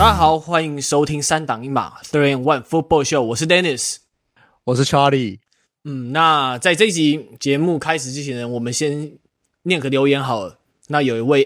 大家好，歡迎收聽三檔一碼 Three and One Football Show， 我是 Dennis， 我是 Charlie。 那在這一集節目開始之前呢，我們先念個留言好了。那有一位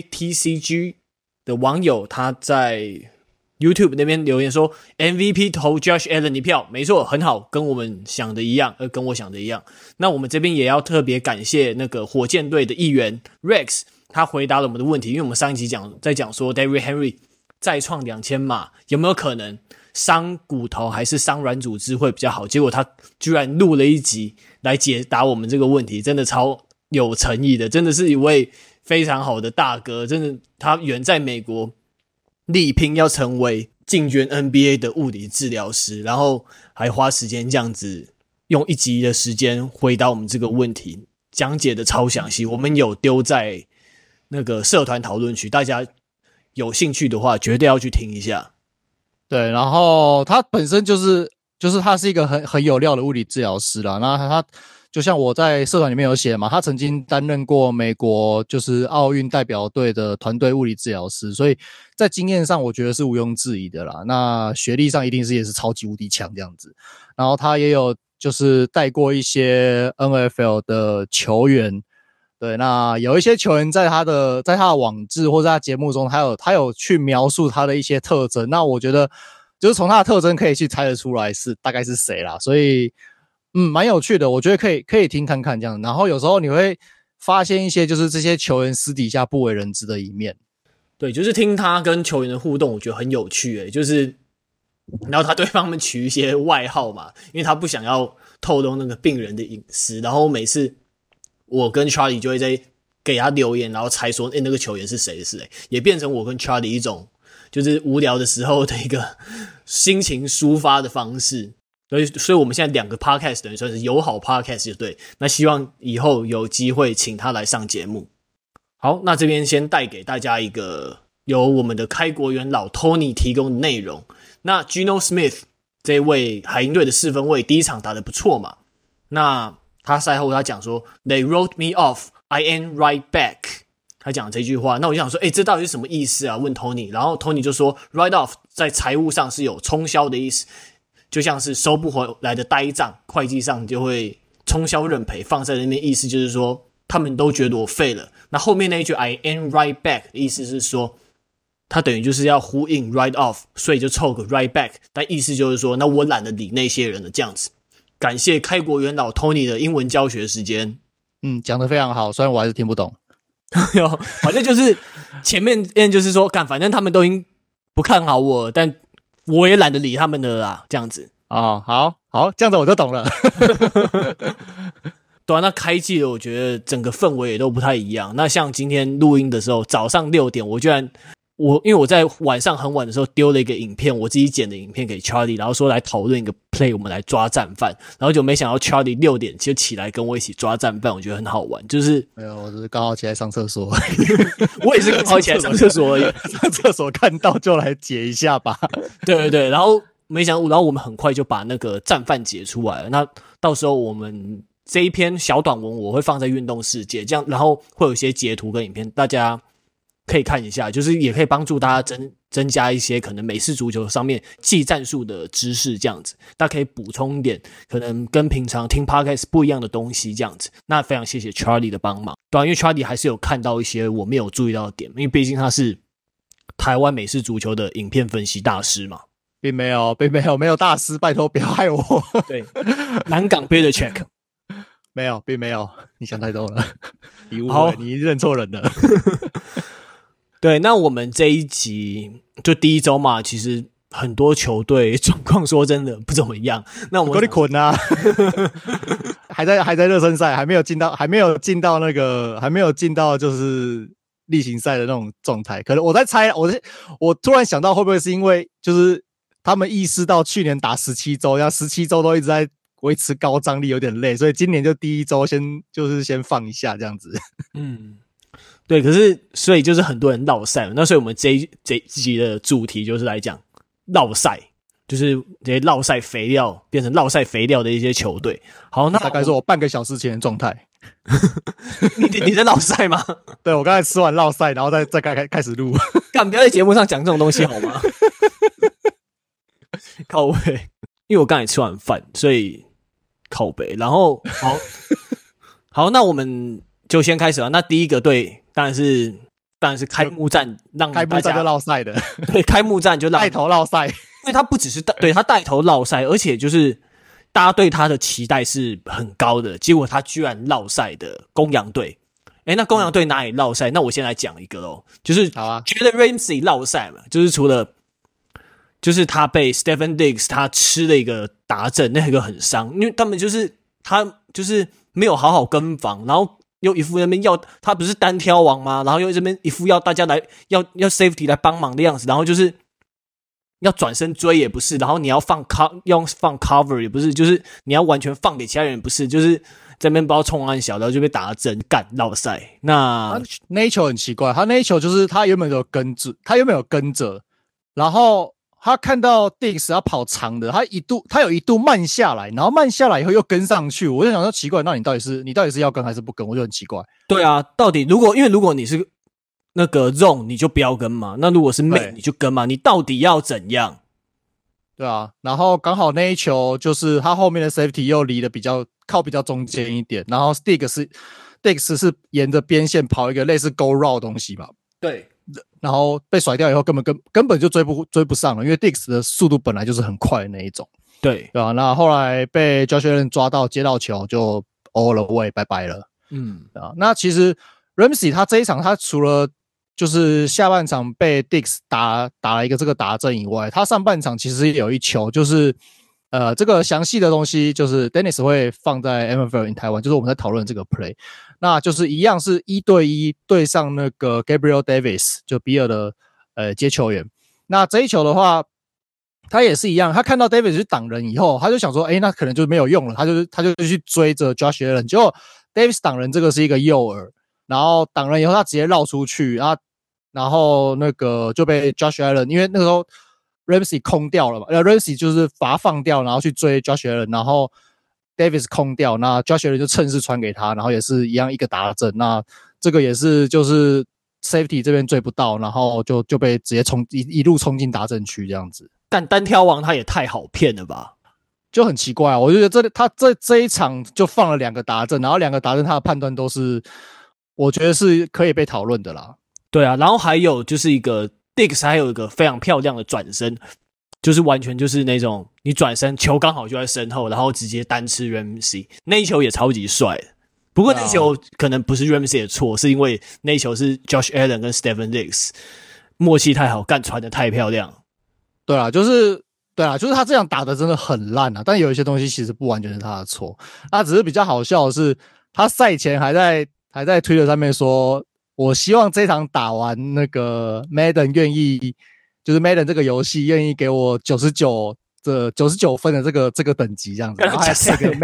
AKTCG 的網友，他在 YouTube 那邊留言說 MVP 投 Josh Allen 一票，沒錯，很好，跟我們想的一樣，跟我想的一樣。那我們這邊也要特別感謝那個火箭隊的議員 Rex， 他回答了我們的問題，因為我們上一集在講說 Derrick Henry 再創2000碼有沒有可能傷骨頭還是傷軟組織會比較好，結果他居然錄了一集來解答我們這個問題，真的超有誠意的，真的是一位非常好的大哥，真的他遠在美國力拼要成為進軍 NBA 的物理治療師，然後還花時間這樣子用一集的時間回答我們這個問題，講解的超詳細，我們有丟在那個社團討論區，大家有興趣的話絕對要去聽一下。 對，然後他本身就是他是一個很有料的物理治療師啦，那他就像我在社团裡面有寫嘛，他曾經擔任過美國就是奧運代表隊的團隊物理治療師，所以在經驗上我覺得是毋庸置疑的啦。那學歷上一定是也是超級無敵強這樣子。然後他也有就是帶過一些 NFL 的球員，對，那有一些球員在他的網誌或者他節目中，他有去描述他的一些特徵，那我覺得就是從他的特徵可以去猜得出来是大概是誰啦，所以蠻有趣的，我觉得可以聽看看這樣。然後有時候你會發現一些就是這些球員私底下不為人知的一面。 對，就是聽他跟球員的互動，我覺得很有趣就是然後他对他們取一些外號嘛，因為他不想要透露那個病人的隱私。然後每次我跟 Charlie 就會在給他留言，然後猜說那個球員是誰，也變成我跟 Charlie 一種就是無聊的時候的一個心情抒發的方式。所以我们現在兩個 podcast 等於算是友好 podcast 就對。那希望以後有機會請他來上節目。好，那這邊先帶給大家一個由我們的開國元老 Tony 提供的內容。那 Geno Smith 這位海鷹隊的四分衛第一場打得不錯嘛，那他賽後他講說 They wrote me off, I ain't right back， 他講這句話。那我就想說這到底是什麼意思啊？問 Tony， 然後 Tony 就說 write off 在財務上是有沖銷的意思，就像是收不回來的呆賬，會計上就會沖銷認賠，放在那邊意思就是說他們都覺得我廢了。那後面那一句 I ain't right back 的意思是說他等於就是要呼應 write off， 所以就湊個 right back， 但意思就是說那我懶得理那些人了這樣子。感謝開國元老 Tony 的英文教學時間。 講得非常好，雖然我還是聽不懂。 反正就是前面就是說反正他們都已經不看好我，但我也懶得理他們的啦，這樣子。 好，這樣子我就懂了。 對啊，那開季了，我覺得整個氛圍也都不太一樣。那像今天錄音的時候，早上6點，因為我在晚上很晚的時候丟了一個影片，我自己剪的影片給 Charlie， 然後說來討論一個 play， 我們來抓戰犯，然後就沒想到 Charlie 6點就起來跟我一起抓戰犯，我覺得很好玩。就是沒有，我只是剛好起來上廁所。 我也是剛好起來上廁所而已， 上廁所看到就來解一下吧。 對，然後沒想到，然後我們很快就把那個戰犯解出來了。那到時候我們這一篇小短文我會放在運動世界，這樣然後會有一些截圖跟影片，大家可以看一下，就是也可以幫助大家增加一些可能美式足球上面技戰術的知識，這樣子大家可以補充一點可能跟平常聽 podcast 不一樣的東西，這樣子。那非常謝謝 Charlie 的幫忙，對啊，因為 Charlie 還是有看到一些我沒有注意到的點，因為畢竟他是台灣美式足球的影片分析大師嘛。 並沒有大師，拜託不要害我。 對，南港 Builder Check 沒有，並沒有，你想太多了，你誤會，你認錯人了。 對，那我們這一集就第一周嘛，其實很多球隊狀況說真的不怎麼樣。那我們給你捆啊，還在熱身賽，還沒有進到就是例行賽的那種狀態。可能我在猜，我突然想到會不會是因為就是他們意識到去年打17周，然後17周都一直在維持高張力，有點累，所以今年就第一周先放一下這樣子。 對，可是所以就是很多人落賽，那所以我們這一集的主題就是來講落賽，就是這些落賽肥料變成落賽肥料的一些球隊。好，那大概是我半個小時前的狀態。 你在落賽嗎？ 對，我剛才吃完落賽，然後再開始錄。 幹，不要在節目上講這種東西好嗎？ 靠北，因為我剛才吃完飯，所以靠北。然後好，那我們就先開始了。那第一個隊當然是開幕戰，讓大家開幕戰就落賽的， 對，開幕戰就帶頭落賽， 因為他不只是對他帶頭落賽，而且就是大家對他的期待是很高的，結果他居然落賽的公羊隊。那公羊隊哪裡落賽？那我先來講一個咯，就是覺得 Ramsey 落賽嘛，就是除了就是他被 Stephen Diggs 他吃了一個達陣，那個很傷，因為他們就是他就是沒有好好跟防，然後又一副那邊要他不是單挑王嗎？然後又這邊一副要大家來要 safety 來幫忙的樣子，然後就是要轉身追也不是，然後你要放 cover 也不是，就是你要完全放給其他人也不是，就是在那邊不知道衝安小，然後就被打了針幹落賽。那一球很奇怪，他那一球就是他原本有跟着，然後他看到 Diggs 要跑長的，他有一度慢下来，然后慢下來以後又跟上去，我就想說奇怪，那你到底是要跟還是不跟？我就很奇怪。 对啊，到底因为如果你是那個 zone 你就不要跟嘛，那如果是 man 你就跟嘛，你到底要怎樣？ 对啊，然後剛好那一球就是他後面的 safety 又離得比較中間一點，然後 Diggs 是沿着邊線跑一個類似 go route 的東西吧？ 對， 然後被甩掉以後根本就追不上了，因為 Diggs 的速度本來就是很快的那一種。對啊，那後來被 Josh Allen 抓到接到球就 all away 拜拜了。啊，那其實 Ramsey 他這一場他除了就是下半場被 Diggs 打了一個這個達陣以外，他上半場其實也有一球，就是這個詳細的東西就是 Dennis 會放在 NFL in 台灣，就是我們在討論這個 play， 那就是一樣是1對1對上那個 Gabriel Davis 就比爾的接球員。那這一球的話，他也是一樣，他看到 Davis 去擋人以後，他就想說，那可能就沒有用了，他就去追着 Josh Allen， 結果 Davis 擋人這個是一個誘餌。然後擋人以後，他直接繞出去，然後那個就被 Josh Allen， 因為那個時候 Ramsey 空掉了嘛，Ramsey 就是把他放掉，然後去追 Josh Allen， 然後 Davis 空掉，那 Josh Allen 就趁勢傳給他，然後也是一樣一個達陣，那這個也是就是 Safety 這邊追不到，然後就被直接一路衝進達陣區這樣子。但單挑王他也太好騙了吧？ 就很奇怪啊，我就覺得他這一場就放了2個達陣，然後2個達陣他的判斷都是。我覺得是可以被討論的啦。 對啊，然後還有就是一個 Diggs 還有一個非常漂亮的轉身，就是完全就是那種你轉身球剛好就在身後，然後直接單吃 Ramsey， 那一球也超級帥的。不過那一球可能不是 Ramsey 的錯，是因為那一球是 Josh Allen 跟 Stephen Diggs 默契太好，幹傳的太漂亮。 對啊，就是他這樣打的真的很爛啊，但有一些東西其實不完全是他的錯，他只是比較好笑的是，他賽前還在 Twitter 上面說，我希望這場打完那個 Madden 願意，就是 Madden 這個遊戲願意給我99分的這個等級這樣子，然後還 take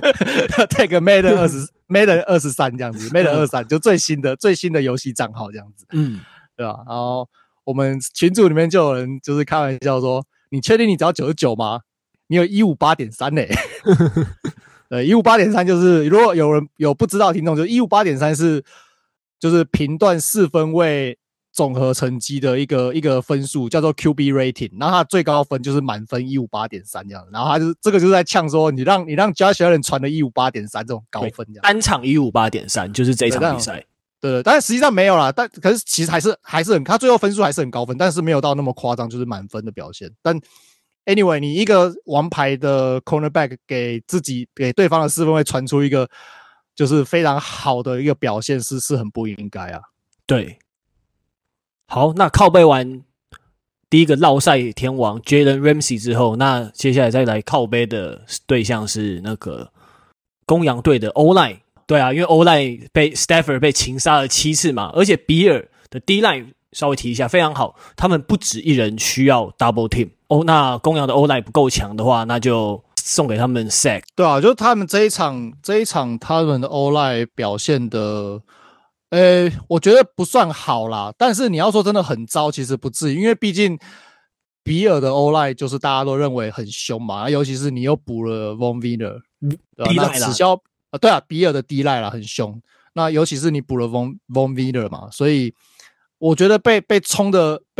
Madden 23這樣子，Madden 23就最新的遊戲賬號這樣子，對吧？然後我們群組裡面就有人就是開玩笑說，你確定你只要99嗎？你有 158.3 欸。158.3 就是如果有人有不知道的聽眾，就 158.3 是就是評斷4分位總和成績的一個分數，叫做 QB rating， 然後它最高分就是滿分 158.3 這樣，然後他就這個就是在嗆說你讓 Josh Allen 傳的 158.3 這種高分這樣， 單場 158.3 就是這場比賽， 對，但是實際上沒有啦，可是其實還是很，他最後分數還是很高分，但是没有到那麼誇張，就是滿分的表現，但。Anyway， 你一個王牌的 cornerback 給對方的4分位傳出一個就是非常好的一個表現是很不應該啊。對， 好，那靠背完第一個落賽天王 Jalen Ramsey 之後，那接下來再來靠背的對象是那個公羊隊的 O-line。對啊，因為 O-line 被 Stafford 被擒殺了7次嘛，而且比爾的 D-line 稍微提一下非常好，他們不止一人需要 double team。那公羊的 O-line 不夠強的話，那就送給他們 sack。 對啊，就是他們這一場他們的 O-line 表現的，我覺得不算好啦。但是你要說真的很糟，其實不至於，因為畢竟比爾的 O-line 就是大家都認為很兇嘛，尤其是你又補了 Von Miller， 對吧？那此消對啊，比爾的 D-line 啦很兇。那尤其是你補了 Von Miller 嘛，所以我覺得被衝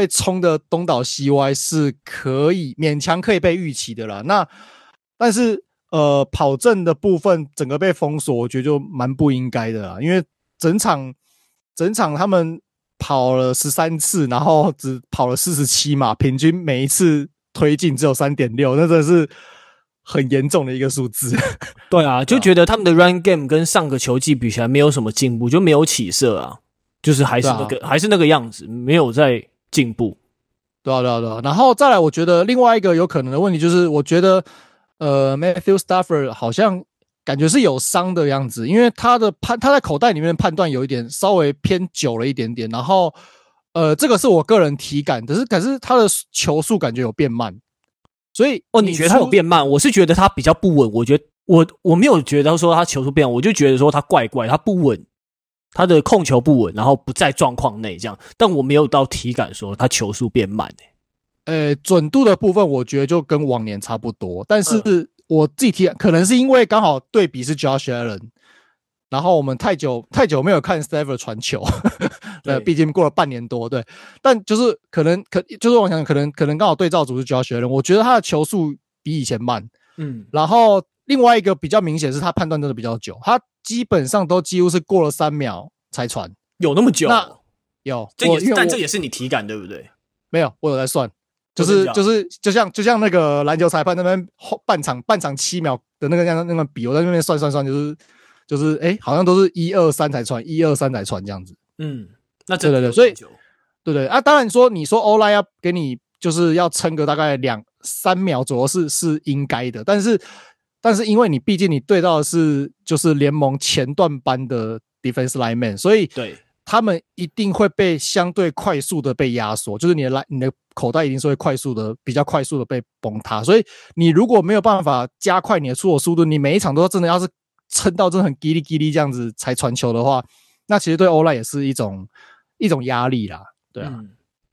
被衝的東倒西歪是可以勉強可以被預期的啦。那但是跑陣的部分整個被封鎖，我覺得就蠻不應該的啦，因為整場他們跑了13次，然後只跑了47碼，平均每一次推進只有 3.6， 那真的是很嚴重的一個數字。 對啊，就覺得他們的 run game 跟上個球季比起來沒有什麼進步，就沒有起色啊，就是還是那個樣子，沒有在進步。 對啊。然後再來，我覺得另外一個有可能的問題就是，我覺得Matthew Stafford 好像感覺是有傷的樣子，因為他在口袋裡面的判斷有一點稍微偏久了一點點，然後這個是我個人體感，可是他的球速感覺有變慢，所以你覺得他有變慢？我是覺得他比較不穩，我覺得我沒有覺得說他球速变慢，我就覺得說他怪，他不穩，他的控球不穩，然後不在狀況內這樣，但我沒有到體感說他球速變慢準度的部分我覺得就跟往年差不多，但是我自己体感可能是因為剛好對比是 Josh Allen， 然後我們太久沒有看 Stafford 傳球，畢竟過了半年多，對，但就是就是我想可能剛好對照組是 Josh Allen， 我覺得他的球速比以前慢，然後另外一個比較明顯是他判斷真的比較久，他基本上都幾乎是過了3秒才傳， 有那麼久？ 那有， 但這也是你體感對不对？ 沒有，我有在算。就是就像那個籃球裁判那邊半場7秒的那個比，我在那邊算，就是好像都是1-2-3才傳，1-2-3才傳這樣子。 那真的對，所以對啊，當然你說 O-line 要給你就是要撐個大概2-3秒左右是應該的，但是因為你畢竟你對到的是就是聯盟前段班的 defense lineman， 所以對。 他們一定會被相对快速的被壓縮，就是你的口袋一定是会比較快速的被崩塌，所以你如果沒有辦法加快你的出手速度，你每一场都真的要是撐到真的很叽哩叽哩這樣子才傳球的話，那其實對 O-line 也是一種壓力啦，對啊。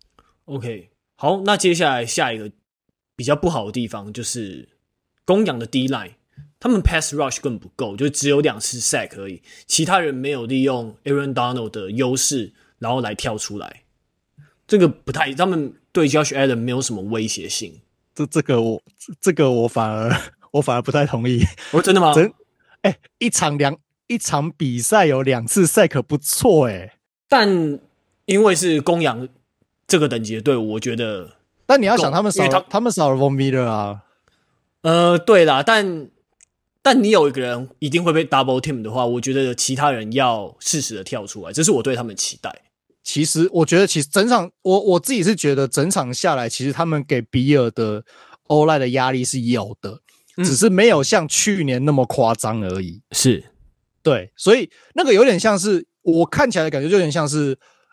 OK， 好，那接下來下一個比較不好的地方就是公羊的 D-line。他們 pass rush 根本不夠，就只有2次 sack 而已，其他人沒有利用 Aaron Donald 的優勢，然後來跳出來。這個不太，他們對 Josh Allen 沒有什麼威脅性。 這個我反而不太同意。 真的嗎？ 一場比賽有2次 sack 不錯但因為是公羊這個等級的隊伍，我覺得。 但你要想他們少了 Von Miller 啊。 對啦，但你有一個人一定會被 double team 的話，我覺得其他人要適時的跳出來，這是我對他們的期待。 其實我覺得，整場我自己是覺得整場下來，其實他們給比爾的 O-line 的壓力是有的，只是沒有像去年那麼誇張而已。 是， 對，所以那個有點像是我看起來的感覺，就有點像是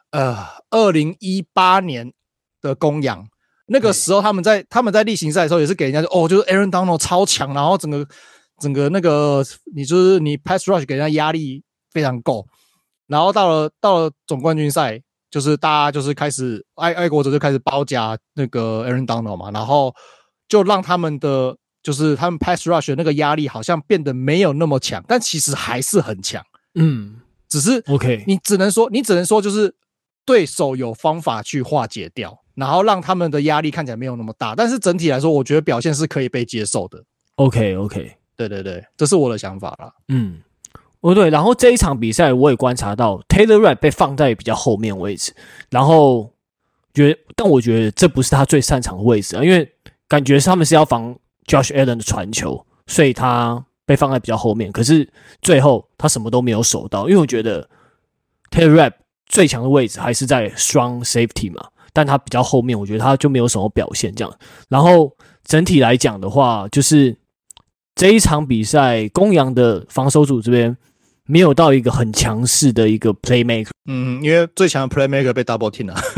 2018年的公羊。那個時候他們在例行賽的時候也是給人家就是 Aaron Donald 超強，然後整個那個你 pass rush 給人家壓力非常夠，然後到了總冠軍賽，就是大家就是開始愛國者就開始包夾那個 Aaron Donald 嘛，然後就讓他們就是他們 pass rush 的那個壓力好像變得沒有那麼強，但其實還是很強。只是 OK， 你只能說就是對手有方法去化解掉，然後讓他們的壓力看起来沒有那麼大，但是整體來說，我覺得表現是可以被接受的。 OK， 对，這是我的想法啦。 对，然後這一場比賽我也觀察到 Taylor Rapp 被放在比較後面位置，然後但我覺得這不是他最擅長的位置啊，因為感覺他們是要防 Josh Allen 的傳球，所以他被放在比較後面，可是最後他什麼都沒有守到，因為我覺得 Taylor Rapp 最強的位置還是在 strong safety 嘛，但他比較後面，我覺得他就沒有什麼表現這樣。然後整體來講的話，就是這一場比賽公羊的防守組這邊沒有到一個很強勢的一個 playmaker， 因為最強的 playmaker 被 double team 了。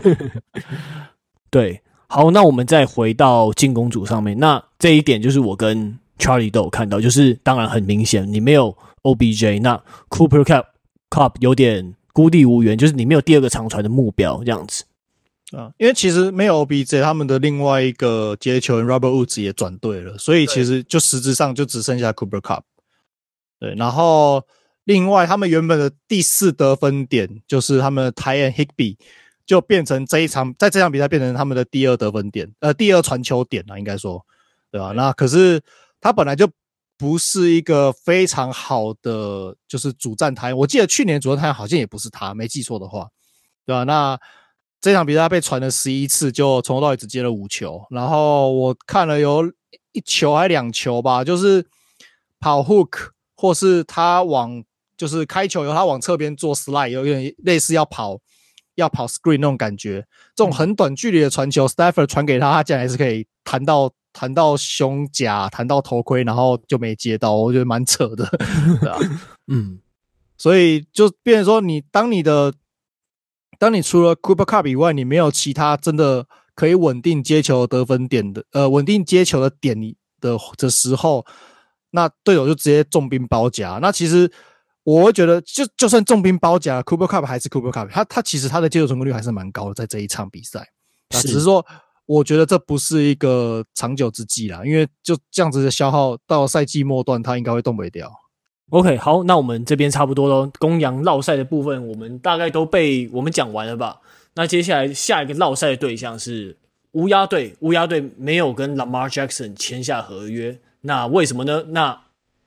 對，好，那我們再回到進攻組上面，那這一點就是我跟 Charlie 都有看到，就是當然很明顯，你沒有 OBJ， 那 Cooper Kupp 有點孤立無援，就是你沒有第二個長傳的目標這樣子。 因為其實沒有 OBJ， 他們的另外一個接球員 Robert Woods 也轉隊了，所以其實就實質上就只剩下 Cooper Kupp。對，然後另外他們原本的第4得分點就是他們的 tight end Higbee 就變成在這場比賽變成他們的第二得分點，第二傳球點應該說，對吧？那可是他本來就不是一個非常好的就是主戰台，我記得去年主戰台好像也不是他，沒記錯的話，對吧？那這場比賽他被傳了11次，就從頭到尾只接了5球，然後我看了有1球還2球吧，就是跑 hook 或是他就是開球以後他往側邊做 slide， 有點類似要跑 screen 那種感覺，這種很短距離的傳球，Stafford 傳給他竟然還是可以彈到胸甲，彈到頭盔，然後就沒接到，我覺得蠻扯的，對啊，所以就變成說當你除了 Cooper Kupp 以外，你沒有其他真的可以穩定接球得分點的，穩定接球的點的時候，那隊友就直接重兵包夾。那其實我會覺得就算重兵包夾 ，Cooper Kupp 還是 Cooper Kupp， 他其實他的接球成功率還是蠻高的，在這一場比賽，只是說。我覺得這不是一個長久之計啦，因為就這樣子的消耗到賽季末段，他應該會動不掉。 OK， 好，那我們這邊差不多咯，公羊繞賽的部分，我們大概都被我們講完了吧？那接下來下一個繞賽的對象是烏鴉隊，烏鴉隊沒有跟 Lamar Jackson 簽下合約，那為什麼呢？那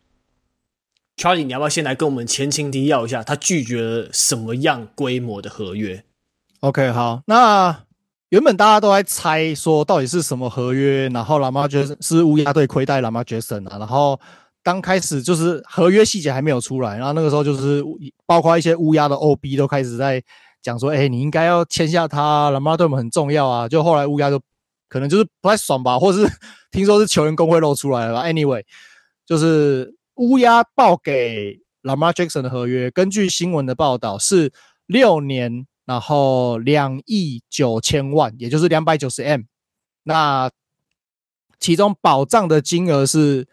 Charlie， 你要不要先來跟我們前情提要一下，他拒絕了什麼樣規模的合約 ？OK， 好，那。原本大家都在猜說到底是什麼合約，然後 Lamar Jackson 是烏鴉隊虧待 Lamar Jackson 啊，然後剛開始就是合約細節還沒有出來，然後那個時候就是包括一些烏鴉的 OB 都開始在講說，你應該要簽下他 ，Lamar 對我們很重要啊。就後來烏鴉就可能就是不太爽吧，或是聽說是球員工會露出來了吧。Anyway， 就是烏鴉報給 Lamar Jackson 的合約，根據新聞的報道是6年。然後2億9千萬，也就是290 M， 那其中保障的金額是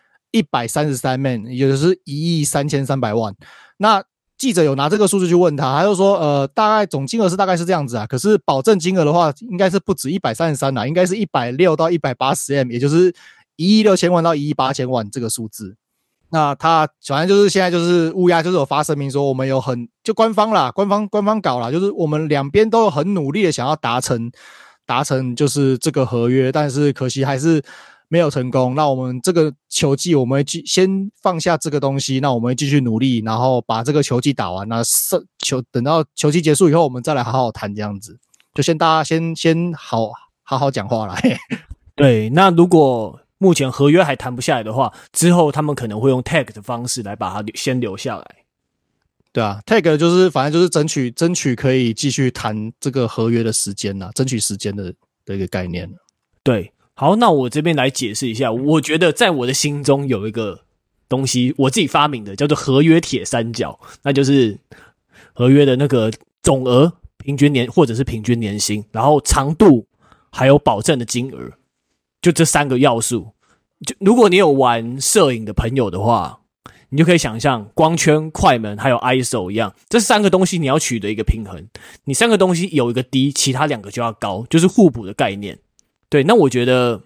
133 M， 也就是1億3300萬。那記者有拿這個數字去問他，他就說，大概總金額大概是這樣子啊，可是保證金額的話，應該是不止133啦，應該是160到180 M， 也就是1億6千萬到1億8千萬這個數字。那他反正就是現在就是烏鴉就是有發聲明說，我們有就官方搞啦，就是我們兩邊都有很努力的想要達成就是這個合約，但是可惜還是沒有成功。那我們這個球季我們會先放下這個東西，那我們會繼續努力，然後把這個球季打完，那等到球季結束以後，我們再來好好談這樣子。就大家先好好講話啦。 對，那如果目前合約還談不下來的話，之後他們可能會用 tag 的方式來把它先留下來。 對啊 ，tag 就是反正就是爭取可以繼續談這個合約的時間啦，爭取時間的一個概念。 對，好，那我這邊來解釋一下，我覺得在我的心中有一個東西，我自己發明的，叫做合約鐵三角，那就是合約的那個總額、平均年或者是平均年薪，然後長度還有保證的金額。就這3個要素，就如果你有玩攝影的朋友的話，你就可以想象光圈、快門還有 ISO 一樣，這3個東西你要取得一個平衡。你3個東西有一個低，其他2個就要高，就是互補的概念。對，那我覺得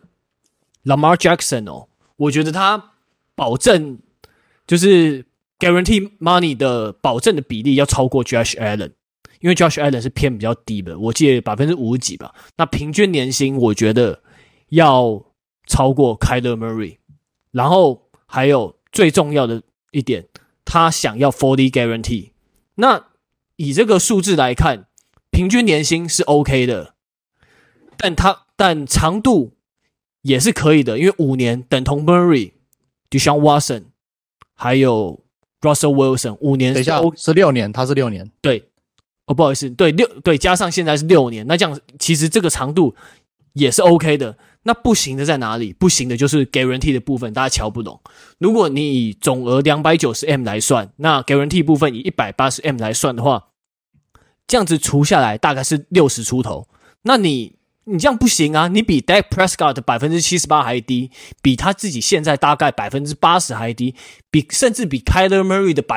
Lamar Jackson 我覺得他保證就是 guarantee money 的保證的比例要超過 Josh Allen， 因為 Josh Allen 是偏比較低的，我記得50%幾吧。那平均年薪我覺得要超過 Kyler Murray， 然後還有最重要的一點，他想要 40 guarantee。那以這個數字來看，平均年薪是 OK 的，但長度也是可以的，因為5年等同 Murray、Deshaun Watson 還有 Russell Wilson 5年。 等一下，是6年，他是6年。 對，不好意思，对，加上现在是6年，那這樣其實這個長度也是 OK 的。那不行的在哪裡？不行的就是 guarantee 的部分，大家瞧不懂。如果你以總額 290M 來算，那 guarantee 部分以 180M 來算的話，這樣子除下來大概是60出頭。那你這樣不行啊，你比 Dak Prescott 的 78% 還低，比他自己現在大概 80% 還低，甚至比 Kyler Murray 的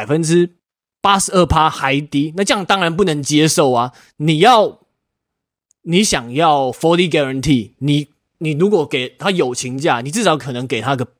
82% 還低，那這樣當然不能接受啊。你想要 40 guarantee， 你如果給他友情價，你至少可能給他個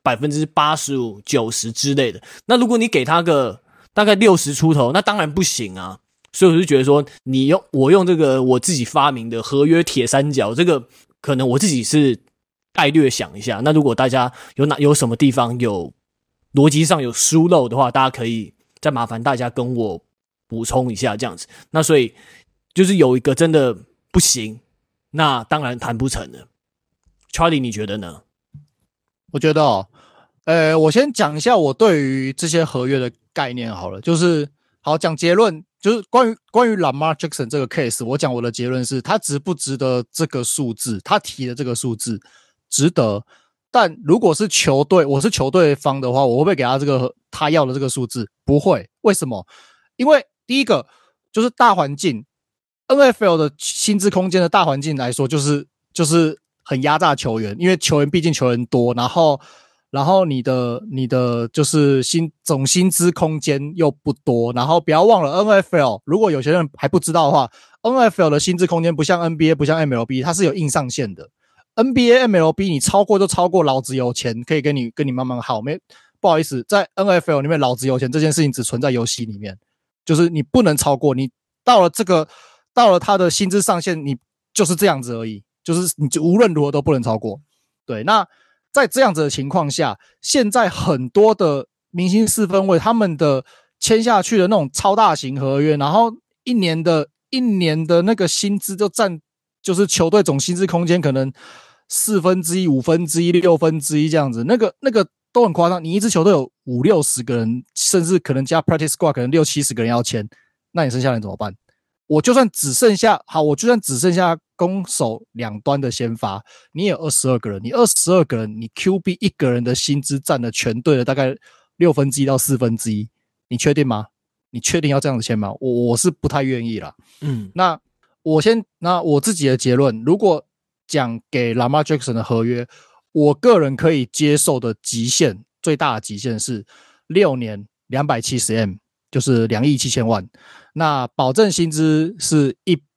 85%、90% 之類的。那如果你給他個大概60出頭，那當然不行啊。 所以我就覺得說，我用這個我自己發明的合約鐵三角，這個可能我自己是概略想一下。那如果大家有什麼地方有邏輯上有疏漏的話，大家可以再麻煩大家跟我補充一下這樣子。那所以就是有一個真的不行，那當然談不成了。Charlie， 你覺得呢？ 我覺得我先講一下我對於這些合約的概念好了，就是好講結論，就是關於 Lamar Jackson 這個 case， 我講我的結論是，他值不值得這個數字？他提的這個數字值得，但如果是球隊，我是球隊方的話，我会不會給他這個他要的這個數字？不會，為什麼？因為第一個就是大環境 ，NFL 的薪資空間的大環境來說，就是很壓榨球員，因為畢竟球員多，然後你的就是總薪資空間又不多，然後不要忘了 NFL， 如果有些人還不知道的話 ，NFL 的薪資空間不像 NBA 不像 MLB， 它是有硬上限的。NBA、MLB 你超過就超過，老子有錢可以跟你慢慢耗。不好意思，在 NFL 裡面老子有錢這件事情只存在遊戏裡面，就是你不能超過，你到了他的薪資上限，你就是這樣子而已。就是你無論如何都不能超過，对。那在這樣子的情況下，現在很多的明星四分衛他們的簽下去的那種超大型合約，然後一年的那個薪資就占，就是球隊總薪資空間可能1/4、1/5、1/6這樣子，那個都很誇張。你一支球隊有50-60個人，甚至可能加 practice squad 可能60-70個人要簽，那你剩下人怎麼辦？我就算只剩下攻守兩端的先發，你也有22個人，你22個人，你 QB 一個人的薪資占了全隊的大概1/6到1/4，你確定嗎？你確定要這樣子簽嗎？我是不太願意啦。那我自己的結論，如果講給 Lamar Jackson 的合約，我個人可以接受的極限，最大的極限是6年270M， 就是2億7千萬。那保證薪資是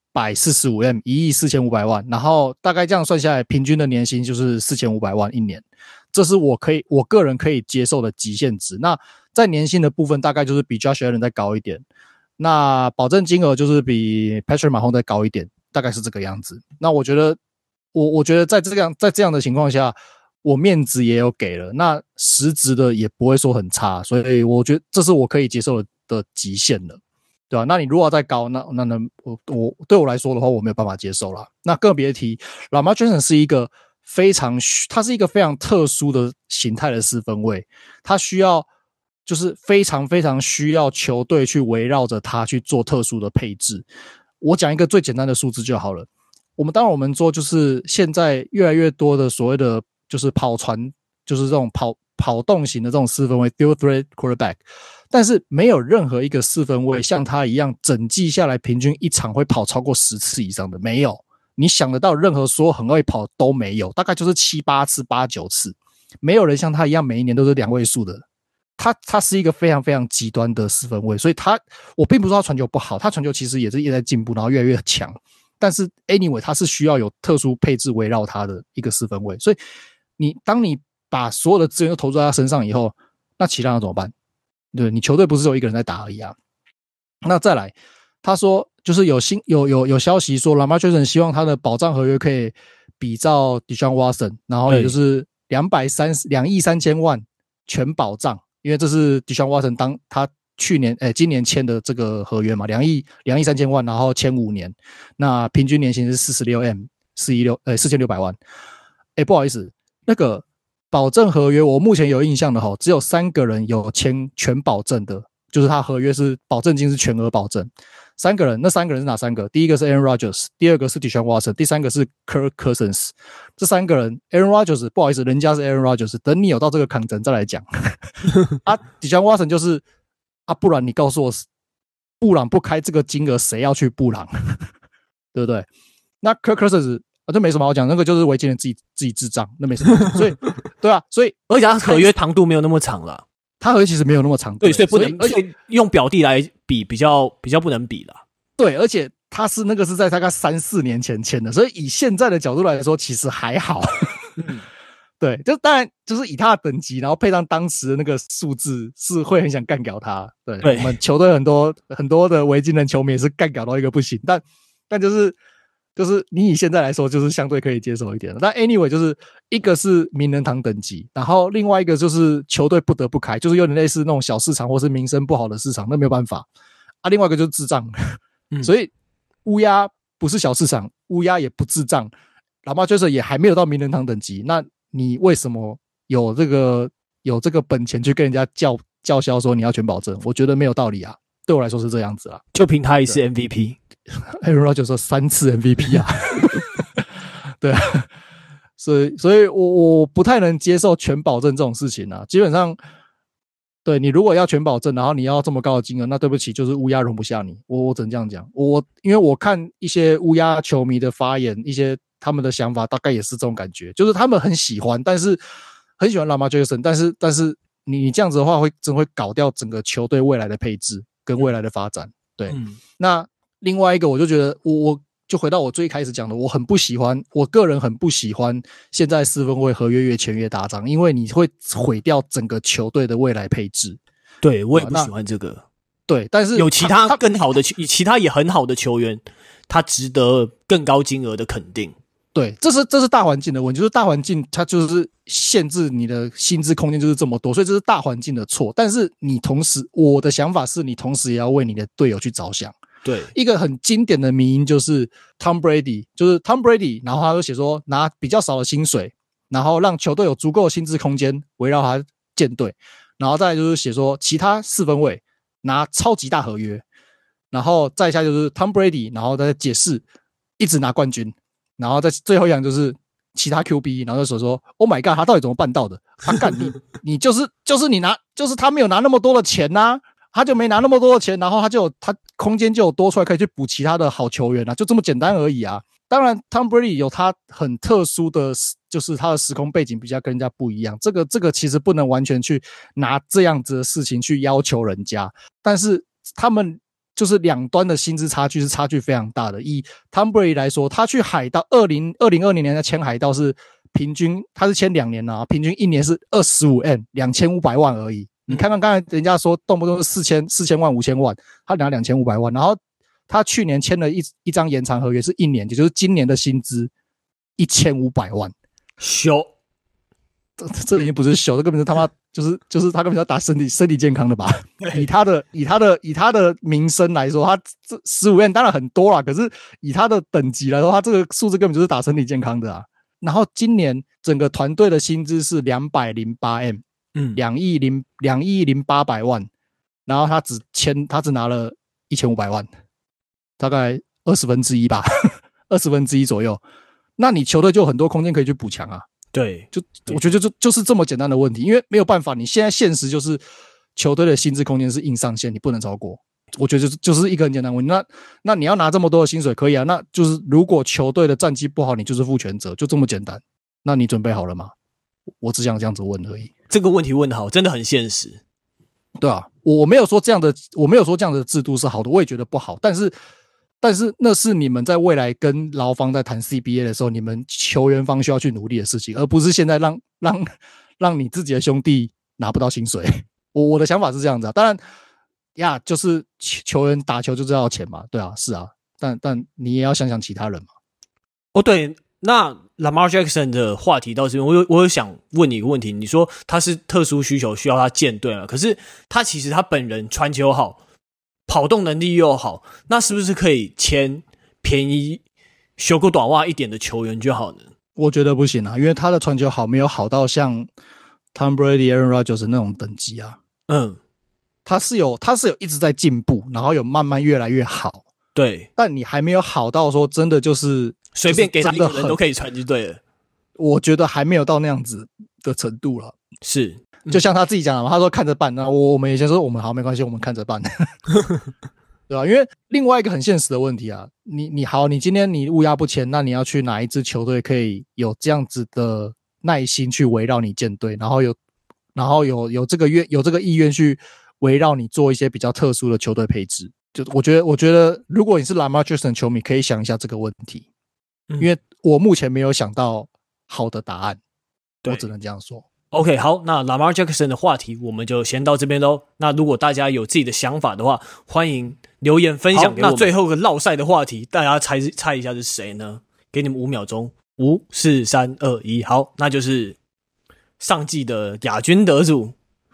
145M， 14500萬，然後大概這樣算下來，平均的年薪就是4500萬一年，這是我個人可以接受的極限值。那在年薪的部分，大概就是比 Josh Allen 再高一點，那保證金額就是比 Patrick Mahomes 再高一點，大概是這個樣子。那我覺得在這樣的情況下，我面子也有給了，那實質的也不會說很差，所以我覺得這是我可以接受的極限了。对吧？那你如果要再高，那我对我来說的話，我沒有辦法接受啦。那更別提 Lamar Jackson 是一個非常特殊的形態的四分衛，他就是非常非常需要球隊去圍繞着他去做特殊的配置。我講一個最簡單的數字就好了。我們做就是現在越來越多的所謂的就是跑傳，就是這種跑動型的這種四分衛 dual threat quarterback。但是沒有任何一個四分衛像他一樣整季下來平均一場會跑超過10次以上的，沒有。你想得到任何說很會跑都沒有，大概就是7-8次、8-9次，沒有人像他一樣每一年都是2位數的。他是一個非常非常極端的四分衛，所以我並不是說他傳球不好，他傳球其實也是一直在進步，然後越來越強。但是 anyway， 他是需要有特殊配置圍繞他的一個四分衛，所以當你把所有的資源都投注在他身上以後，那其他人怎麼辦？對，你球隊不是只有一個人在打而已啊。那再來，他說就是有消息說 Lamar Jackson 希望他的保障合約可以比照 Deshaun Watson， 然後也就是2億3千萬全保障，因為這是 Deshaun Watson 當他今年簽的這個合約嘛，2億3千萬，然後簽5年，那平均年薪是 46M， 4600萬。不好意思，那個保證合約，我目前有印象的只有3個人有簽全保證的，就是他合約是保證金是全額保證。3個人，那3個人是哪3個？第一個是 Aaron Rodgers， 第二個是 Deshaun Watson， 第三個是 Kirk Cousins。這3個人 ，Aaron Rodgers 不好意思，人家是 Aaron Rodgers， 等你有到這個抗爭再來講。Deshaun Watson 就是不然你告訴我，布朗不開這個金額，誰要去布朗？對不對？那 Kirk Cousins。這沒什麼好講，那個就是維金人自己智障，那沒什麼好講。所以，對啊，所以而且他合約長度沒有那麼長啦， 他合約其實沒有那麼長， 對，所以不能，而且用表弟來比較不能比啦。 對，而且他是那個是在大概3-4年前簽的，所以以現在的角度來說，其實還好。 對，就當然就是以他的等級，然後配上當時的那個數字，是會很想幹掉他。對，我們球隊很多的維京人球迷也是幹掉到一個不行，但就是你以現在來說，就是相對可以接受一點的。但 anyway， 就是一個是名人堂等級，然後另外一個就是球隊不得不開，就是有點類似那種小市場或是名聲不好的市場，那沒有辦法啊。另外一個就是智障，所以烏鴉不是小市場，烏鴉也不智障，Lamar Jackson也還沒有到名人堂等級，那你為什麼有這個本錢去跟人家叫囂說你要全保證？我覺得沒有道理啊，對我來說是這樣子啊。 就憑他一次 MVP。Aaron Rodgers 說3次 MVP 啊，對啊，所以我不太能接受全保證這種事情啊。基本上，對，你如果要全保證，然後你要這麼高的金額，那對不起，就是烏鴉容不下你。我只能這樣講。因為我看一些烏鴉球迷的發言，一些他們的想法大概也是這種感覺，就是他們很喜歡，但是很喜歡 Lamar Jackson，但是你這樣子的話真會搞掉整個球隊未來的配置跟未來的發展。對，那另外一個我就覺得我就回到我最開始講的，我個人很不喜歡現在四分衛合約越簽越大張，因為你會毀掉整個球隊的未來配置。 對，我也不喜歡這個。 對，但是有其他更好的其他也很好的球員，他值得更高金額的肯定。 对，这是大環境的問題，就是大環境它就是限制你的薪資空間就是這麼多，所以這是大環境的錯。但是你同時，我的想法是你同時也要為你的隊友去着想。 對， 一個很經典的迷因就是 Tom Brady， 然後他就寫說拿比較少的薪水，然後讓球隊有足夠的薪資空間圍繞他建隊，然後再來就是寫說其他四分衛拿超級大合約，然後再下就是 Tom Brady， 然後再解釋一直拿冠軍，然後再最後一樣就是其他 QB， 然後就說 Oh my God， 他到底怎麼辦到的？他幹你就是你拿，就是他沒有拿那麼多的錢啊。他就沒拿那麼多的錢，然後他空間就有多出來可以去補其他的好球員啊，就這麼簡單而已啊。當然 Tom Brady 有他很特殊的，就是他的時空背景比較跟人家不一樣，這個其實不能完全去拿這樣子的事情去要求人家，但是他們就是兩端的薪資差距是差距非常大的。以 Tom Brady 來說，他去海盜2020年他簽海盜是平均他是簽2年啊，平均一年是25M 2500萬而已。你看看剛才人家說動不動是4000萬5000萬，他拿2500萬，然後他去年簽了一張延長合約是1年，也就是今年的薪資1500萬。 秀， 這已經不是秀，這根本是他媽就是他根本要打身體健康的吧？以他的名声來說，他這15M當然很多啦，可是以他的等級來說，他這個數字根本就是打身體健康的啊。然後今年整個團隊的薪資是208M。2億0800萬，然後他只拿了1500萬，大概1/20吧，1/20左右。那你球隊就有很多空間可以去補強啊。 對， 我覺得就是這麼簡單的問題，因為沒有辦法，你現在現實就是球隊的薪資空間是硬上限，你不能超過。我覺得就是一個很簡單的問題。那你要拿這麼多的薪水可以啊，那就是如果球隊的戰績不好，你就是負全責，就這麼簡單。那你準備好了嗎？我只想這樣子問而已。 這個問題問得好，真的很現實。 對啊，我沒有說這樣的制度是好的，我也覺得不好。但是那是你們在未來跟勞方在談 CBA 的時候，你們球員方需要去努力的事情，而不是現在讓你自己的兄弟拿不到薪水。我的想法是這樣子啊。當然呀，就是球員打球就是要錢嘛，對啊，是啊。但你也要想想其他人嘛。 哦，對。那 Lamar Jackson 的話題到這邊，我有想問你一個問題，你說他是特殊需求需要他建隊嘛？可是其實他本人傳球好，跑動能力又好，那是不是可以簽便宜、修個短襪一點的球員就好呢？ 我覺得不行啊，因為他的傳球好沒有好到像 Tom Brady、Aaron Rodgers 那種等級啊。他是有一直在進步，然後有慢慢越来越好。 對， 但你還沒有好到說真的就是隨便給他一個人都可以傳就對了。 我覺得還沒有到那樣子的程度了。 是， 就像他自己講的嘛，他說看着辦。那我們以前說我們好沒關係，我們看着辦，對吧？因為另外一個很現實的問題啊，你好，你今天你烏鴉不簽，那你要去哪一支球隊可以有這樣子的耐心去圍繞你建隊，然後有這個意願去圍繞你做一些比較特殊的球隊配置。就我覺得，如果你是 Lamar Jackson 球迷，可以想一下這個問題，因為我目前沒有想到好的答案。 我只能這樣說。 OK， 好，那 Lamar Jackson 的話題我們就先到這邊嘍。那如果大家有自己的想法的話，歡迎留言分享給我們。那最後一個烙賽的話題，大家猜一下是誰呢？給你們5秒鐘，5、4、3、2、1，好，那就是上季的亞軍得主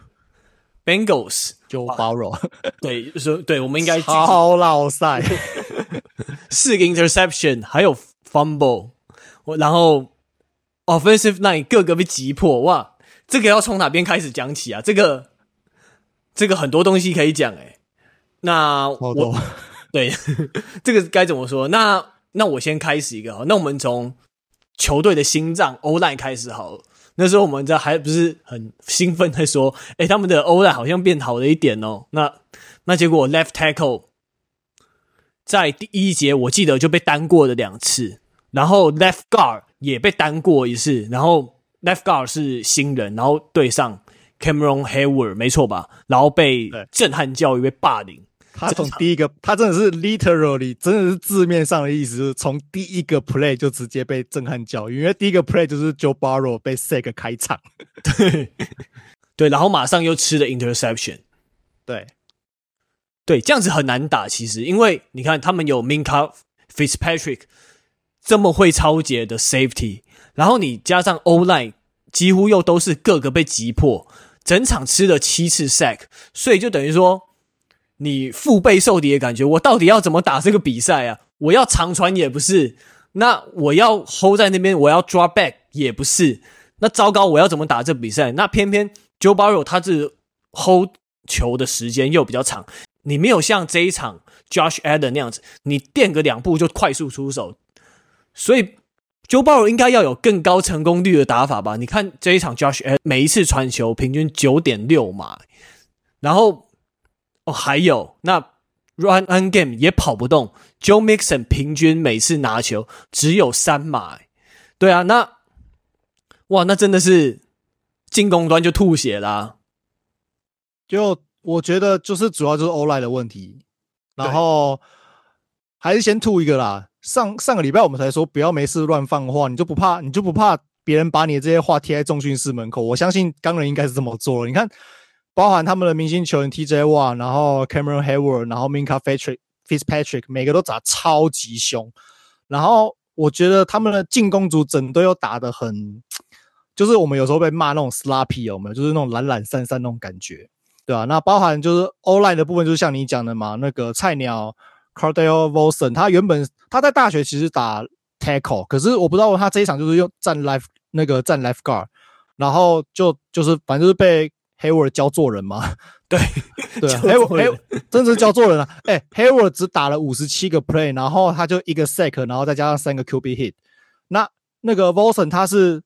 Bengals Joe Burrow。 對，對，我們應該超烙賽 ，4個 interception， 還有 fumble， 然後 offensive line 各個被擊破，哇！這個要從哪邊開始講起啊？這個很多東西可以講誒。那我對這個該怎麼說？那我先開始一個好，那我們從球隊的心臟 O-line 開始好了。那時候我們還不是很興奮在說，他們的 O-line 好像變好了一點哦。那結果 left tackle 在第一節我記得就被單過了2次，然後 left guard 也被單過1次，然後left guard 是新人，然後對上 Cameron Hayward 沒錯吧？然後被震撼教育，被霸凌。 他從第一個，他真的是 literally 真的是字面上的意思，就是從第一個 play 就直接被震撼教育，因為第一個 play 就是 Joe Burrow 被 sack 開場， 對，然後馬上又吃了 interception， 對，這樣子很難打，其實，因為你看他們有 Minkah Fitzpatrick 這麼會抄截的 safety， 然後你加上 O-line 幾乎又都是各個被擊破，整場吃了7次 sack， 所以就等於說你腹背受敵的感覺，我到底要怎麼打這個比賽啊？我要長傳也不是，那我要 hold 在那邊，我要 drop back 也不是，那糟糕，我要怎麼打這個比賽？那偏偏 Joe Burrow 他是 hold 球的時間又比較長，你沒有像這一場 Josh Allen 那樣子，你墊個2步就快速出手，所以 Joe Burrow 應該要有更高成功率的打法吧？你看這一場 Josh Allen 每一次傳球平均 9.6 碼，然後還有那 run game 也跑不動 ，Joe Mixon 平均每次拿球只有3碼，對啊，那真的是進攻端就吐血啦。 就我覺得就是主要就是 O-line 的問題，然後還是先吐一個啦。上個禮拜我們才說不要沒事亂放話，你就不怕別人把你的這些話貼在重訓室門口？我相信鋼人應該是這麼做了。你看，包含他們的明星球員 TJ Watt， 然後 Cameron Hayward， 然後 Minkah Fitzpatrick， 每個都打超級凶。然後我覺得他們的進攻組整隊又打得很，就是我們有時候被罵那種 sloppy 有沒有？就是那種懶懶散散那種感覺，對吧？那包含就是 O-line 的部分，就是像你講的嘛，那個菜鳥 Cardale Volson， 他原本他在大学其實打 tackle， 可是我不知道他這一場就是用站 left guard， 然後就是反正就是被 Hayward 教做人嘛，对啊，Hayward 真的是教做人啊！Hayward 只打了57個 play， 然後他就1個 sack， 然後再加上3個 QB hit。那個 Volson 他是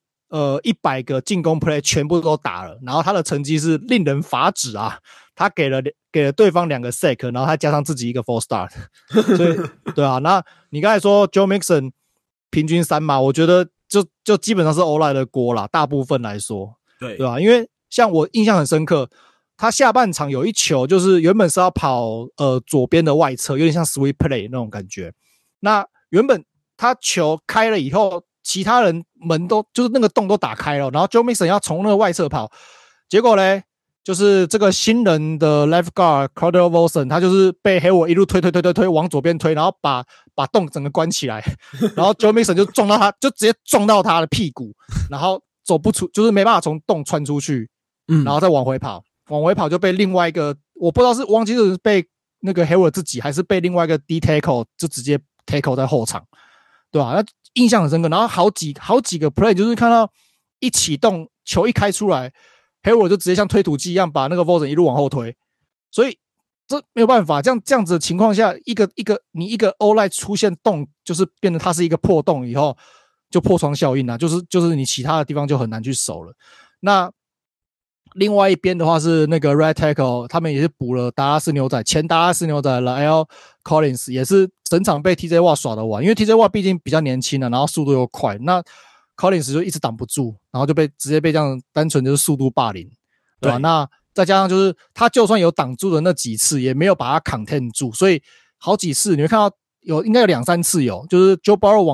100個進攻 play 全部都打了，然後他的成績是令人髮指啊！他給了對方2個 sack， 然後他加上自己1個 false start， 所以對啊。那你剛才說 Joe Mixon 平均3碼，我覺得就基本上是 O-line 的鍋啦，大部分來說，對吧？因為像我印象很深刻，他下半場有一球就是原本是要跑左邊的外側，有點像 sweep play 那種感覺。那原本他球開了以後，其他人門都就是那個洞都打開了，然後 Joe Mixon 要從那個外側跑，結果咧就是這個新人的 left guard Cardale Volson， 他就是被 Hayward 一路推往左邊推，然後把洞整個關起來，然後 Joe Mixon 就撞到他，就直接撞到他的屁股，然後走不出，就是沒辦法從洞穿出去，然後再往回跑就被另外一個我不知道是忘記是被那個 Hayward 自己還是被另外一個 D tackle 就直接 tackle 在後場，對吧？那印象很深刻，然後好幾個 play 就是看到一啟動球一開出來 Hayward 就直接像推土機一樣把那個 Volson 一路往後推，所以這沒有辦法，這樣子的情況下，你一個 O-line 出現洞，就是變得它是一個破洞以後，就破窗效應啊，就是你其他的地方就很難去守了。那另外一邊的話是那個 right tackle， 他們也是補了達拉斯牛仔，前達拉斯牛仔 La'el Collins 也是整場被 TJ Watt 耍得完，因為 TJ Watt 畢竟比較年輕了，然後速度又快，那 Collins 就一直擋不住，然後就直接被這樣單純就是速度霸凌，对吧？那再加上就是他就算有擋住的那幾次，也沒有把他 contain 住，所以好幾次你會看到应該有2-3次就是 Joe Burrow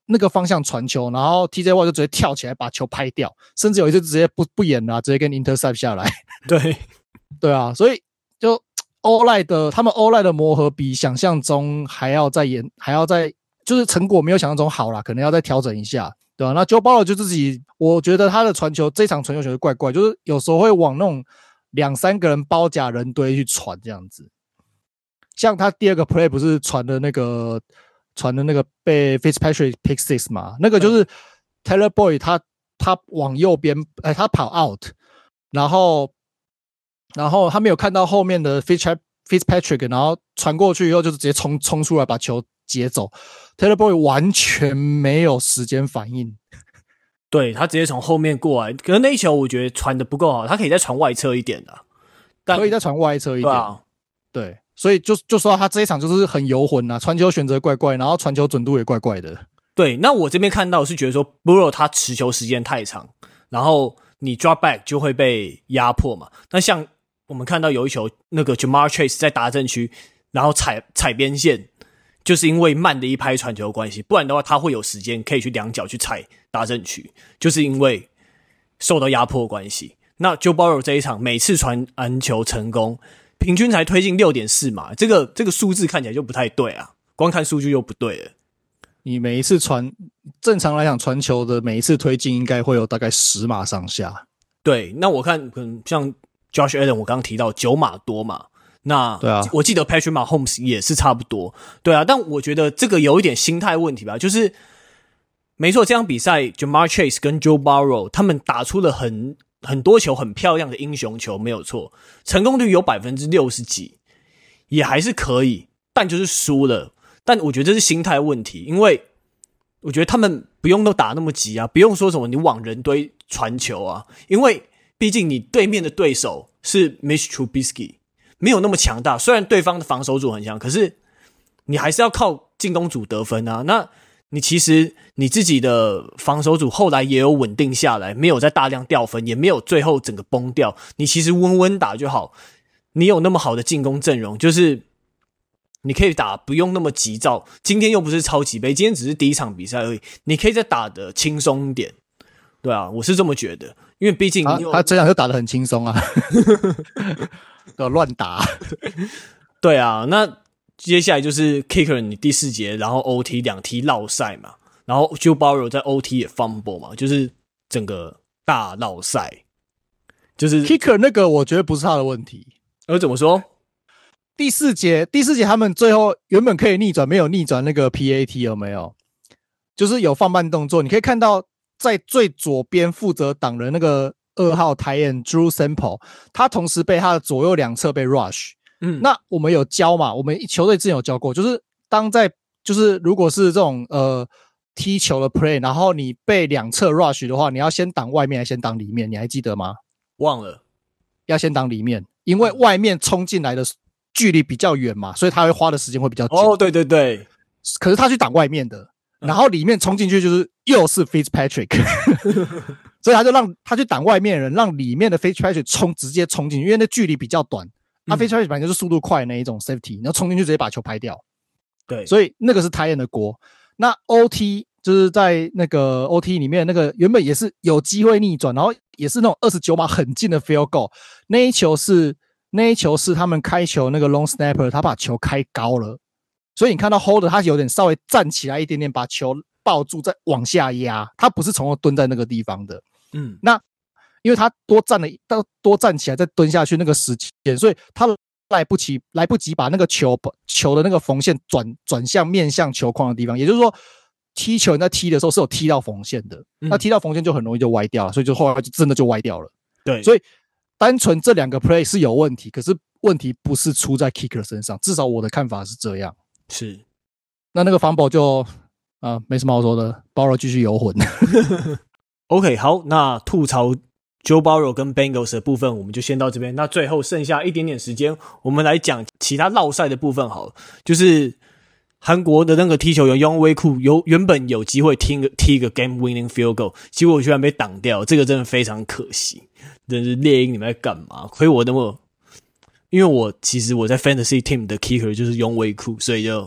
那個方向傳球，然後 TJ Watt 就直接跳起來把球拍掉，甚至有一次直接不演了，直接跟 intercept 下來。 对， 对啊，所以就他們 O-line 的磨合比想象中还要再就是成果沒有想象中好啦，可能要再調整一下，對吧？那 Joe Burrow 就自己，我覺得他的傳球，這場傳球球怪怪，就是有時候會往那種2-3個人包夾人堆去傳這樣子。像他第二個 play 不是傳的那個被 Fitzpatrick pick six 嘛？那個就是 Taylor Boyd 他往右邊，他跑 out， 然後他沒有看到後面的 Fitzpatrick， 然後傳過去以後就直接衝出來把球接走。Taylor Boyd 完全沒有時間反應， 對，他直接從後面過來，可是那一球我覺得傳的不夠好，他可以再傳外側一點的， 可以再傳外側一點， 啊、 對，所以就說他這一場就是很遊魂啊，傳球選擇怪怪，然後傳球準度也怪怪的。 對，那我這邊看到是覺得說 Burrow 他持球時間太長，然後你 drop back 就會被壓迫嘛。那像我們看到有一球那個 Ja'Marr Chase 在達陣區，然後踩邊線。就是因為慢的一拍傳球的關係，不然的話他會有時間可以去兩腳去踩達陣區，就是因為受到壓迫的關係。那 Joe Burrow 這一場每次傳完球成功，平均才推進 6.4 碼，這個數字看起來就不太對啊，光看數據又不對了。 你每一次正常來講傳球的每一次推進應該會有大概10碼上下。 對，那我看可能像 Josh Allen 我剛剛提到9碼多嘛。那對啊，我記得 Patrick Mahomes 也是差不多，對啊，但我覺得這個有一點心態問題吧，就是沒錯，這場比賽 Ja'Marr Chase 跟 Joe Burrow 他們打出了很多球很漂亮的英雄球，沒有錯，成功率有60%幾，也還是可以，但就是輸了。但我覺得這是心態問題，因為我覺得他們不用都打那麼急啊，不用說什麼你往人堆傳球啊，因為畢竟你對面的對手是 Mitch Trubisky。沒有那麼強大，雖然對方的防守組很強，可是你還是要靠進攻組得分啊。那你其實你自己的防守組後來也有穩定下來，沒有再大量掉分，也沒有最後整個崩掉。你其實穩穩打就好。你有那麼好的進攻陣容，就是你可以打，不用那麼急躁。今天又不是超級盃，今天只是第一場比賽而已，你可以再打得輕鬆一點。對啊，我是這麼覺得，因為畢竟他這樣就打得很輕鬆啊。亂打， 對啊，那接下來就是 Kicker 你第4節，然後 OT 2踢落賽嘛，然後 Joe Burrow 在 OT 也 fumble 嘛，就是整個大落賽。就是 Kicker 那個我覺得不是他的問題， 怎麼說？ 第四節他們最後原本可以逆轉，沒有逆轉那個 PAT 有沒有？就是有放慢動作，你可以看到在最左邊負責擋人那個2號tight end Drew Sample， 他同時被他的左右兩側被 rush。那我們有教嘛？我們球隊之前有教過，就是就是如果是這種踢球的 play， 然後你被兩側 rush 的話，你要先擋外面還是先擋裡面？你還記得嗎？ 忘了， 要先擋裡面，因為外面衝進來的距離比較遠嘛，所以他會花的時間會比較久。 哦，對对對， 可是他去擋外面的，然後裡面衝進去就是又是 Fitzpatrick。所以他就讓他去擋外面的人，讓裡面的 Fitzpatrick 直接衝進去，因為那距離比較短。Fitzpatrick 本來就是速度快的那一種 safety， 然後衝進去直接把球拍掉。 對， 所以那個是tight end的鍋。那 OT 就是在那個 OT 裡面，那個原本也是有機會逆轉，然後也是那種29碼很近的 field goal。那一球是他們開球那個 long snapper， 他把球開高了，所以你看到 holder 他有點稍微站起來一點點，把球抱住再往下壓，他不是從头蹲在那個地方的。那因為他多站起來再蹲下去那個時間，所以他來不及把那個球的那個縫線轉向面向球框的地方，也就是說踢球在踢的時候是有踢到縫線的，那踢到縫線就很容易就歪掉了，所以就後來就真的就歪掉了。 對， 所以單純這兩個 play 是有問題，可是問題不是出在 kicker 身上，至少我的看法是這樣。 是， 那個 fumble 就沒什麼好說的，Burrow 繼續遊魂。 OK， 好，那吐槽 Joe Burrow 跟 Bengals 的部分我們就先到這邊。那最後剩下一點點時間，我們來講其他落賽的部分好了。就是韓國的那個踢球員 Younghoe Koo 原本有機會踢一個 game winning field goal， 結果居然被擋掉，這個真的非常可惜。真是獵鷹你們在幹嘛？虧我那麼，因為其實我在 Fantasy Team 的 Kicker 就是 Younghoe Koo， 所以就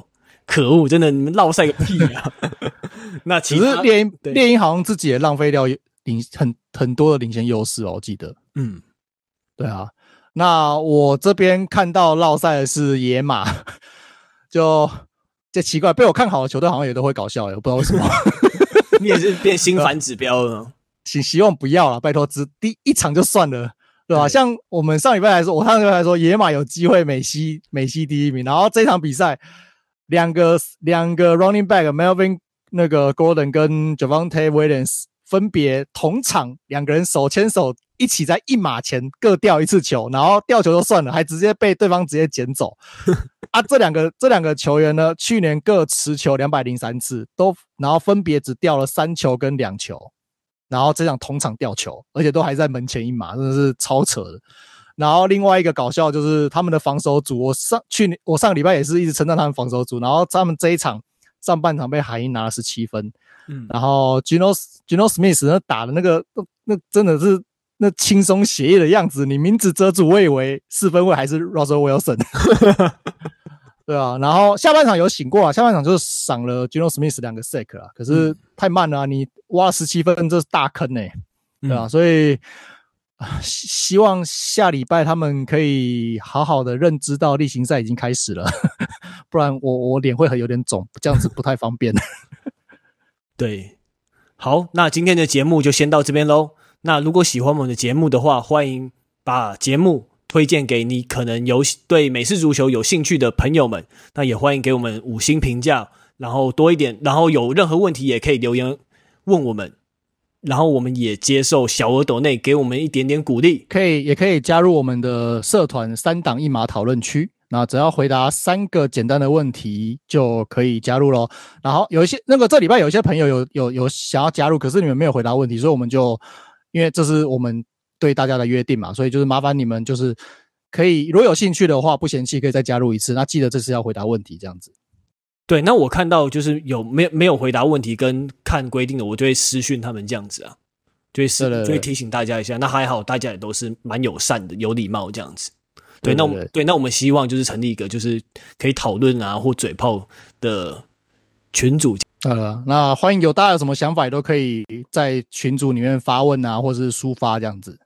可惡，真的你們落賽個屁啊！那其實獵鷹好像自己也浪費掉很多的領先優勢哦，我記得。對啊。那我這邊看到落賽的是野馬，就奇怪，被我看好的球隊好像也都會搞笑，我不知道為什麼。 你也是變新反指標了。希望不要啦，拜託，第一場就算了，對吧？像我們上禮拜來說，野馬有機會美西第一名，然後這場比賽兩個 running back Melvin那個 Gordon 跟 Javonte Williams 分別同場2個人手牽手一起在1碼前各掉一次球，然後掉球就算了，還直接被對方直接撿走。這兩個球員呢，去年各持球203次，然後分別只掉了3球跟2球，然後這場同場掉球，而且都還在门前1碼，真的是超扯的。然後另外一個搞笑就是他們的防守組，我上個禮拜也是一直稱讚他們防守組，然後他們這一場上半場被海鷹拿了17分，然後 Geno Smith 那打的那真的是那輕鬆寫意的樣子，你名字遮住，我以為4分衛還是 Russell Wilson。对啊，然後下半場有醒過啊，下半場就是賞了 Geno Smith 2個 sack 啊，可是太慢了啊，你挖17分，這是大坑欸，對啊，所以希望下禮拜他們可以好好的認知到例行賽已經開始了，不然我臉會有點腫，這樣子不太方便。 對，好，那今天的節目就先到這邊咯。那如果喜歡我們的節目的話，歡迎把節目推薦給你可能對美式足球有興趣的朋友們，那也歡迎給我們5星評價，然後多一點，然後有任何問題也可以留言問我們，然後我們也接受小額抖內給我們一點點鼓勵， 也可以加入我們的社團3檔1碼討論區，那只要回答3個簡單的問題就可以加入咯。然後有一些这禮拜有一些朋友有想要加入，可是你們沒有回答問題，所以我們就因為這是我們對大家的約定嘛，所以就是麻煩你們就是可以如果有興趣的話，不嫌棄可以再加入一次，那記得這次要回答問題這樣子。 對，那我看到就是沒有回答問題跟看規定的，我就會私訊他們這樣子啊，就會提醒大家一下。那還好，大家也都是蠻友善的，有禮貌這樣子。對，那我們希望就是成立一個就是可以討論啊或嘴炮的群組。 那歡迎大家有什麼想法也都可以在群組裡面發問啊，或是抒發這樣子。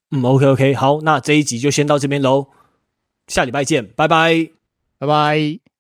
OK， 好，那這一集就先到這邊嘍，下禮拜見，拜拜， 拜拜。